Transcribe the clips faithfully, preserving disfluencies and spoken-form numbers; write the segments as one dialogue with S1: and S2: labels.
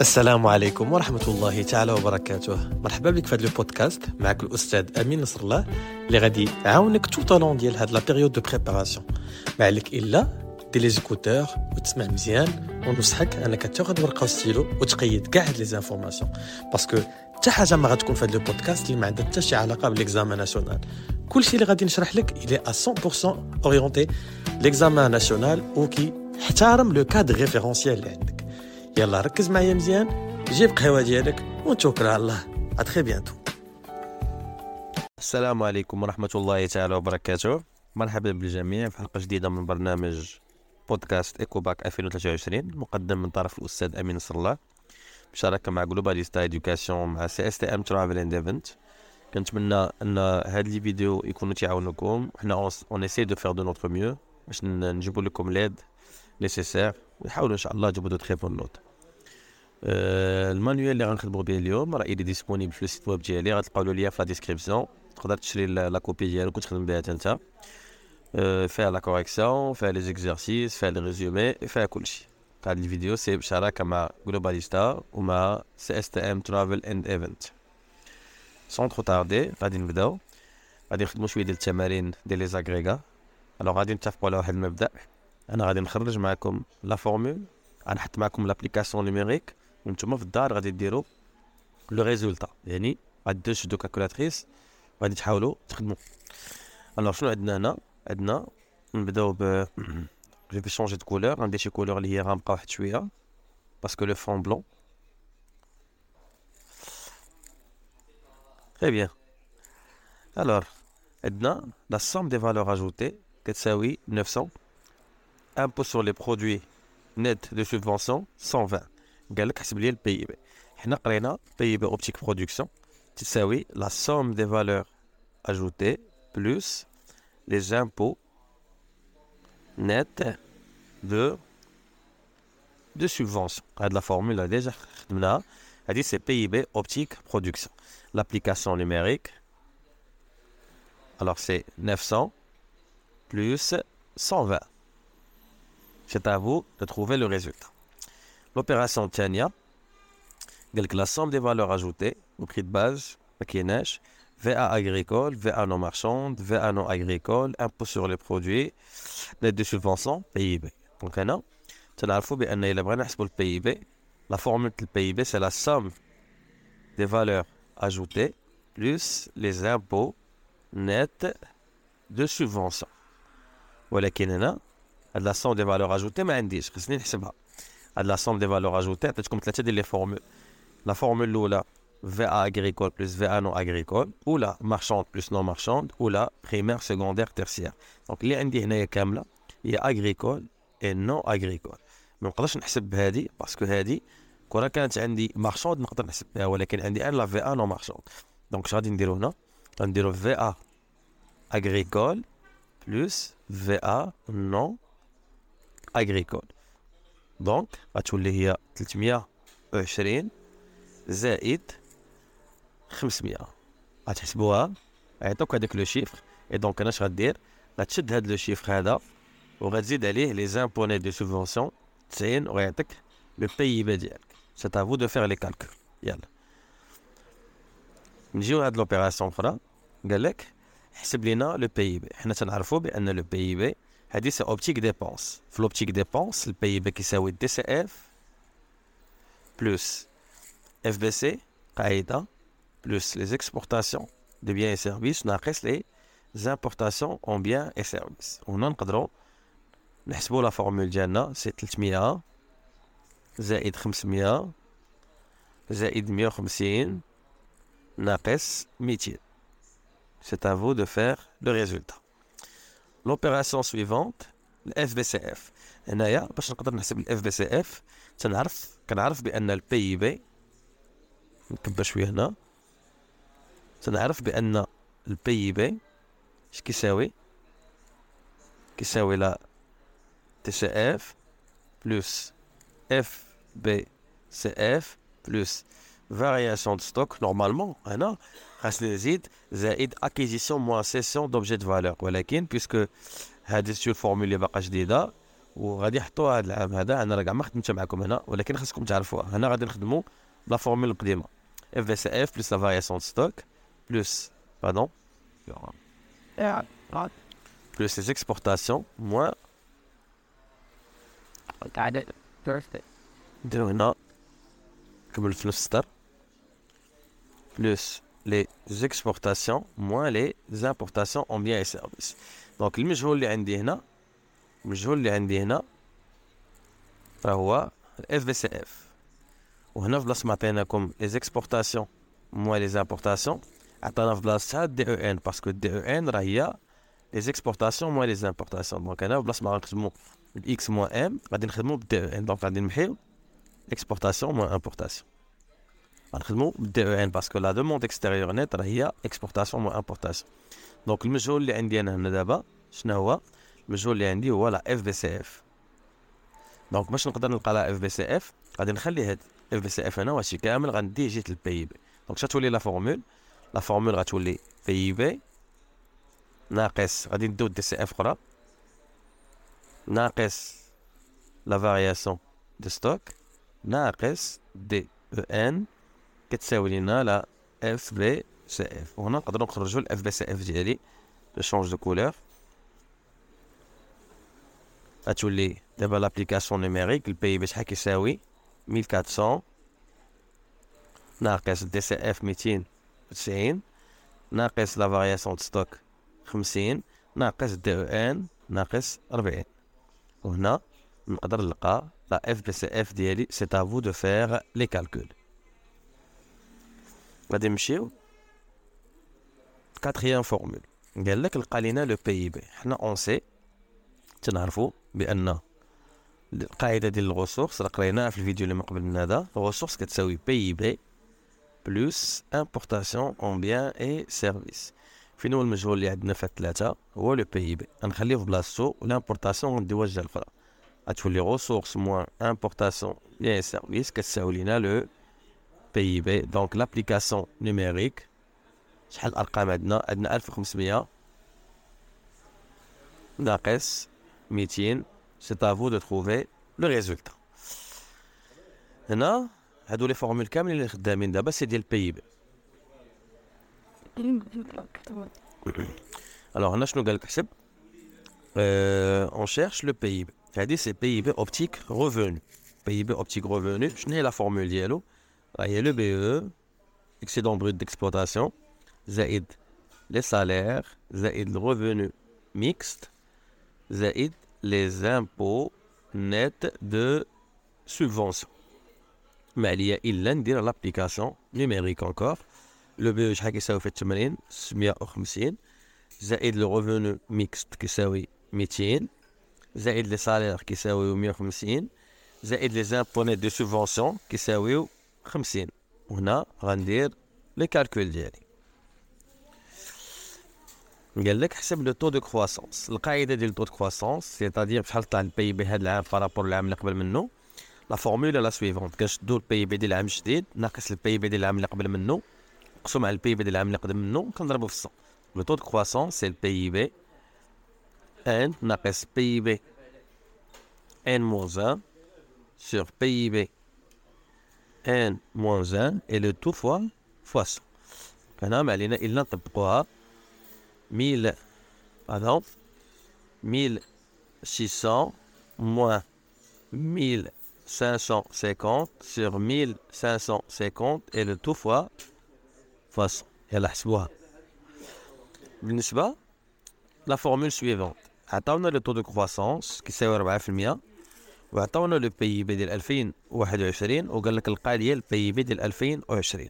S1: السلام عليكم ورحمة الله تعالى وبركاته. مرحبا بك في هذا البودكاست. معك الأستاذ أمين نصر الله اللي غادي يعاونك tout au long ديال هاد لا بيريود دو بريباراسيون. ما عليك إلا دير لي زيكوتور وتسمع مزيان، ونصحك أنك تاخذ ورقة وستيلو وتقيد كاع هاد لي زانفورماسيون، باسكو حتى حاجة ما غتكون في هاد البودكاست اللي ما عندها حتى شي علاقة بالإكزامان ناسيونال. كلشي اللي غادي نشرح لك إلي à cent pour cent أورينتي لإكزامان ناسيونال وكي احترم لو كادر ريفيرونسيال اللي عندك. يلا ركز معايا مزيان، جيب قهوة ديالك ونتوكل على الله. à très bientôt. السلام عليكم ورحمة الله تعالى وبركاته. مرحبا بالجميع في حلقة جديدة من برنامج بودكاست إيكوباك ألفين وثلاثة وعشرين، مقدم من طرف الأستاذ أمين نصر الله بشراكة مع جلوباليستا إدوكاسيون مع سي اس تي ام ترافل اند ايفنت. كنتمنى ان هاد لي فيديو يكونوا تعاونوكم. حنا اون اسي دو فير دو نوتر ميو باش نجيبوا لكم ليد نيسيسير ونحاولوا ان شاء الله نجيبوا دو تري بون نوت. أه المانيوال اللي غنخدموا به اليوم راه يدي ديسپونيبل في السيت ويب ديالي، غتلقاو له ليا في لا ديسكريبسيون، تقدر تشري لا كوبي ديالو وتخدم بها حتى انت. أه فيها لا كوريكسيون، فيها لي زيكزارسيس، فيها لي ريزومي، فيها كلشي. هاد الفيديو سي بشراكه مع جلوباليستا ومع سي اس تي ام ترافل اند ايفنت. سون ترو تاردي غادي نبداو، غادي نخدموا شويه ديال التمارين ديال لي زاغريغا. الوغ غادي نتفقوا على واحد المبدا، انا غادي نخرج معكم لا فورمول، غنحط معكم لابليكاسيون نيميريك، وانتم في الدار غادي ديروا لو ريزولتا، يعني غادي تشدوا كالكولاتريس وغادي تحاولوا تخدموا. الوغ شنو عندنا هنا؟ عندنا نبداو ب جو في شونجي دو كولور، غندير شي كولور اللي هي غامقه واحد شويه باسكو لو فون بلون. تري بيان. الوغ عندنا لا somme des valeurs ajoutées كتساوي neuf cents. impôt sur les produits net de subvention cent vingt. قال لك حسب لي البي اي بي. حنا قرينا بي اي بي اوبتيك برودكسيون تساوي la somme des valeurs ajoutées plus les impôts net de de subvention. هاد لا فورمولا ديجا خدمناها، هادي سي بي اي بي اوبتيك برودكسيون. l'application numérique, alors c'est neuf cents plus cent vingt. C'est à vous de trouver le résultat. L'opération Tania, la somme des valeurs ajoutées au prix de base, maquinage, V A agricole, V A non marchande, V A non agricole, impôt sur les produits, net de subvention, P I B. Donc maintenant, tu as l'info, bien, il a pour le P I B. La formule du P I B, c'est la somme des valeurs ajoutées plus les impôts nets de subvention. ولكن هنا هاد لا somme des valeurs ajoutées ما عنديش، خصني نحسبها. هاد لا somme des valeurs ajoutées عطيتكم ثلاثه ديال لي فورمول. لا فورمول الاولى V A agricole plus V A non agricole، ولا marchande plus non marchande، ولا primaire secondaire tertiaire. دونك اللي عندي هنايا كامله هي agricole et non agricole. ما نقدرش نحسب بهذه باسكو هذه كون كانت عندي marchande نقدر نحسب بها، ولكن عندي انا لا V A non marchande. دونك اش غادي نديرو هنا؟ غنديرو V A agricole plus V A non agricole. دونك غتولي هي ثلاثمية وعشرين زائد خمسمية. غتحسبوها عيطوك هذاك لو شيفر، اي دونك انا اش غدير؟ غتشد هذا لو شيفر هذا وغتزيد عليه لي زامبوني دو سوبفونسيون تسعين ويعطيك لو بي اي بي ديالك. سي تا فو دو فير لي كالكول. يلا نجيو لهاد لوبيراسيون اخرى. قال لك حسب لينا لو بي اي بي. حنا تنعرفوا بان لو بي اي بي هذه سي اوبتيك ديبونس. في لوبتيك ديبونس البي اي بي كيساوي دي سي اف بلس اف بي سي قاعده بلس لي اكسبورتاسيون دي بيان اي سيرفيس ناقص لي زامبورتاسيون اون بيان اي سيرفيس. وهنا نقدروا نحسبوا لا فورمول ديالنا سي ثلاثمية زائد خمسمية زائد مية وخمسين ناقص ميتين. C'est à vous de faire le résultat. L'opération suivante, le F B C F. هنايا باش نقدر نحسب ال F B C F تنعرف كنعرف بان ال P I B، نكبر شويه هنا، تنعرف بان ال P I B اش كيساوي؟ كيساوي لا T C F plus F B C F plus variation de stock. Normalement هنا خاصني نزيد زائد acquisition moins cession d'objet de valeur، ولكن puisque هذه سي فورمول اللي باقا جديده وغادي يحطوها هذا العام هذا. انا راه كاع ما خدمتش معكم هنا، ولكن خاصكم تعرفوها. هنا غادي نخدموا لا فورمول القديمه اف في سي اف بلس لا فارياسيون ستوك بلس pardon plus les exportations moins de هنا كمل في نفس السطر plus les exportations moins les importations en biens et services. donc المجهول اللي عندي هنا المجهول اللي عندي هنا فهو اف في سي اف، وهنا في بلاصه ما عطيناكم les exportations moins les importations عطانا في بلاصتها دي او ان، باسكو دي او ان راه هي les exportations moins les importations. دونك هنا بلاصه ما غنخدموا الاكس موان ام غادي نخدموا بالدي او ان. دونك غادي نمحيو exportation moins importation، غنخدموا بالدي او ان باسكو لا دوموند اكستيريور نيت راه هي exportation moins importation. دونك المجهول اللي عندي انا هنا دابا شنو هو؟ المجهول اللي عندي هو لا اف بي سي اف. دونك باش نقدر نلقى لا اف بي سي اف غادي نخلي هاد اف بي سي اف هنا وهادشي كامل غندي جيت البي بي. دونك شتولي لا فورمول لا فورمول غتولي بي بي ناقص غادي ندو دي سي اف اخرى ناقص لا فارياسيون دو ستوك ناقص دي او ان كتساوي لينا لا اف بي سي اف. وهنا نقدروا نخرجوا الاف بي سي اف ديالي جو شونج دو كولور. غتولي دابا لابليكاسيون نيميريك البي بي شحال كيساوي مية وأربعمية ناقص دي سي اف ميتين وتسعين ناقص لا فارياسيون دو ستوك خمسين ناقص دي او ان ناقص أربعين. وهنا نقدر نلقى لا اف بي سي اف ديالي. سي à vous de faire les calculs. غادي نمشيو كاتريام فورمول. قال لك لقى لينا لو بي بي. حنا اون سي تنعرفوا بان القاعده ديال الغوسورس راه قريناها في الفيديو اللي من قبل من هذا. الغوسورس كتساوي بي بي بلس امبورطاسيون اون بيان اي سيرفيس. فين هو المجهول اللي عندنا في الثلاثه؟ هو لو بي بي. غنخليه في بلاصتو والامبورطاسيون غنديوها الجهه الاخرى. غتولي غوسورس موان امبورطاسيون بيان اي سيرفيس كتساوي لينا لو بي بي. دونك لابليكاسيون نيميريك شحال الارقام عندنا؟ عندنا ألف وخمسمية ناقص ميتين. سي à vous de trouver le résultat. هنا هادو لي فورمول كاملين اللي خدامين دابا سي ديال البي بي. الوغ هنا شنو قالك حسب؟ اون شيرش لو بي بي. هادي سي بي بي اوبتيك ريفونو. بي بي اوبتيك ريفونو شنو هي لا فورمول ديالو؟ راه هي لو بي او اكسيدون بروت ديكسبلوطاسيون زائد لي سالير زائد الريفونو ميكست زائد لي زامبو نيت دو سوبفونسيون. ما عليا الا ندير لابليكاسيون نيميريك انكور. لو بي او شحال كيساوي في الثمانين ستمية وخمسين زائد لو ريفونو ميكست كيساوي ميتين زائد لي سالير كيساويو مية وخمسين زائد لي زامبو نيت دو سوبفونسيون كيساويو خمسين. وهنا غندير لي كالكول ديالي. قال لك حسب لو تو دو كرواسونس. القاعده ديال لو تو دو كرواسونس سيتادير شحال طلع البي بي هذا العام بارابور العام اللي قبل منه. لا فورمولا لا سويفونت كنشدو البي بي ديال العام الجديد ناقص البي بي ديال العام اللي قبل منه مقسوم على البي بي ديال العام اللي قبل منه كنضربو في الصفر. لو تو دو كرواسونس سي البي بي ان ناقص بي بي ان موان واحد sur بي بي ان موان واحد et le tout fois fois cent. هنا ما علينا الا نطبقوها مية pardon mille six cents moins mille cinq cent cinquante sur mille cinq cent cinquante et le tout fois fois cent. يلا حسبوها. بالنسبة لا فورمول سويفونت عطاونا لو طو دو كرواسونس كيساوي أربعة في المية وعطاونا لو بي بي ديال ألفين وواحد وعشرين وقال لك القا ليا البي بي ديال ألفين وعشرين.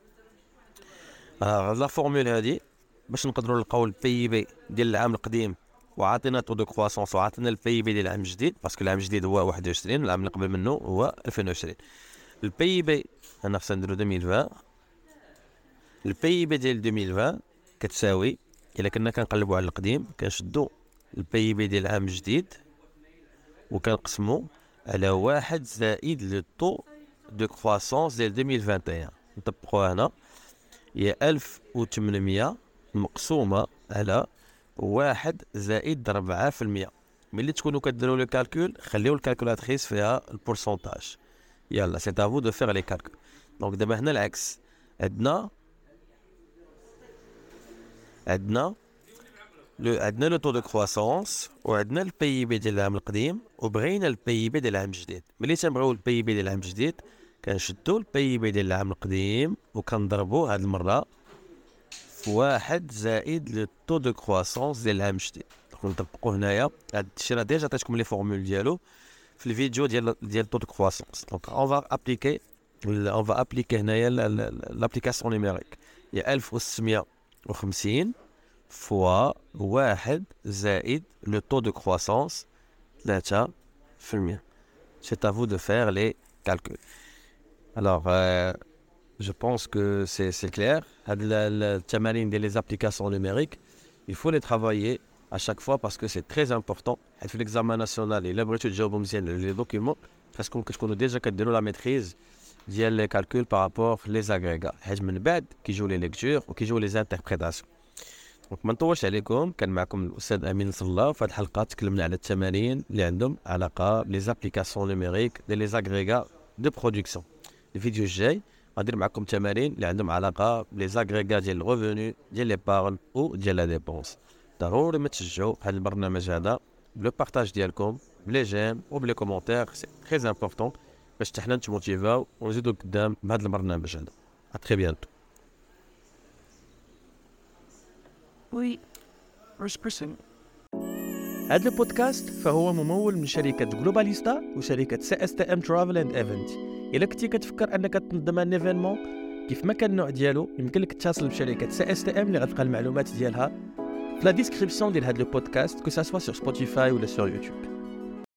S1: آه لا فورمول هادي باش نقدروا نلقاو البي بي ديال العام القديم وعطينا طو دو كرواسونس وعطينا البي بي ديال العام الجديد باسكو العام الجديد هو واحد وعشرين العام اللي قبل منه هو ألفين وعشرين. البي بي انا خصنا نديرو ألفين وعشرين. البي بي ديال ألفين وعشرين كتساوي الا كنا كنقلبوا على القديم كنشدو البي بي ديال العام الجديد وكنقسمو على واحد زائد لو طو دو كرواسونس ديال ألفين وواحد وعشرين. نطبقوها هنا هي ألف وثمانمية مقسومة على واحد زائد ربعة في المية. ملي تكونوا كديروا لو كالكول خليو الكالكولاتريس فيها البورسونتاج. يلا سي افو دو فير لي كالكول. دونك دابا هنا العكس، عندنا عندنا لو عندنا لو طو دو كرواسونس وعندنا البي اي بي ديال العام القديم وبغينا البي اي بي ديال العام الجديد. ملي تنبغيو البي اي بي ديال العام الجديد كنشدو البي اي بي ديال العام القديم وكنضربوه هاد المره في واحد زائد لو طو دو كرواسونس ديال العام الجديد. نطبقوا هنايا هاد الشيء راه ديجا عطيتكم لي فورمول ديالو في الفيديو ديال ديال طو دو كرواسونس. دونك اون فا ابليكي اون فا ابليكي هنايا لابليكاسيون نيميريك هي ألف وستمية وخمسين فوا واحد زائد لو طو دو كرواسونس ثلاثة في المية. سي افو دو فير لي كالكول. الوغ جو بونس كو سي سي كلير. هاد التمارين ديال لي زابليكاسيون نيميريك il faut les travailler à chaque fois parce que c'est très important. حيت في l'examen national الا بغيتو تجاوبوا مزيان لي دوكيومون خاصكم كتكونوا ديجا كديروا لا ميتريز ديال لي كالكول بارابور لي زاغريغا، حيت من بعد كيجيو لي ليكتور وكيجيو لي زانتربريتاسيون. دونك ما نطولش عليكم، كان معكم الاستاذ امين نصر الله. في هذه الحلقه تكلمنا على التمارين اللي عندهم علاقه بلي زابليكاسيون نيميريك ديال لي زاغريغا دو برودكسيون. الفيديو الجاي غندير معكم تمارين اللي عندهم علاقه بلي زاغريغا ديال الريفوني ديال لي بارن او ديال لا ديبونس. ضروري ما تشجعوا هذا البرنامج هذا بلو بارطاج ديالكم بلي جيم وبلي كومونتير، سي تري امبورطون باش حتى حنا نتموتيفاو ونزيدو قدام بهذا البرنامج هذا. ا تري بيانتو.
S2: وي first person.
S3: هذا البودكاست فهو ممول من شركة جلوباليستا وشركة سي اس تي ام ترافل اند ايفنت. إلا كنتي كتفكر انك تنظم ان ايفينمون كيف ما كان النوع ديالو، يمكن لك تتصل بشركة سي اس تي ام اللي غتلقى المعلومات ديالها في لا ديسكريبسيون ديال هذا البودكاست، كو سا سوا سور سبوتيفاي ولا سور يوتيوب.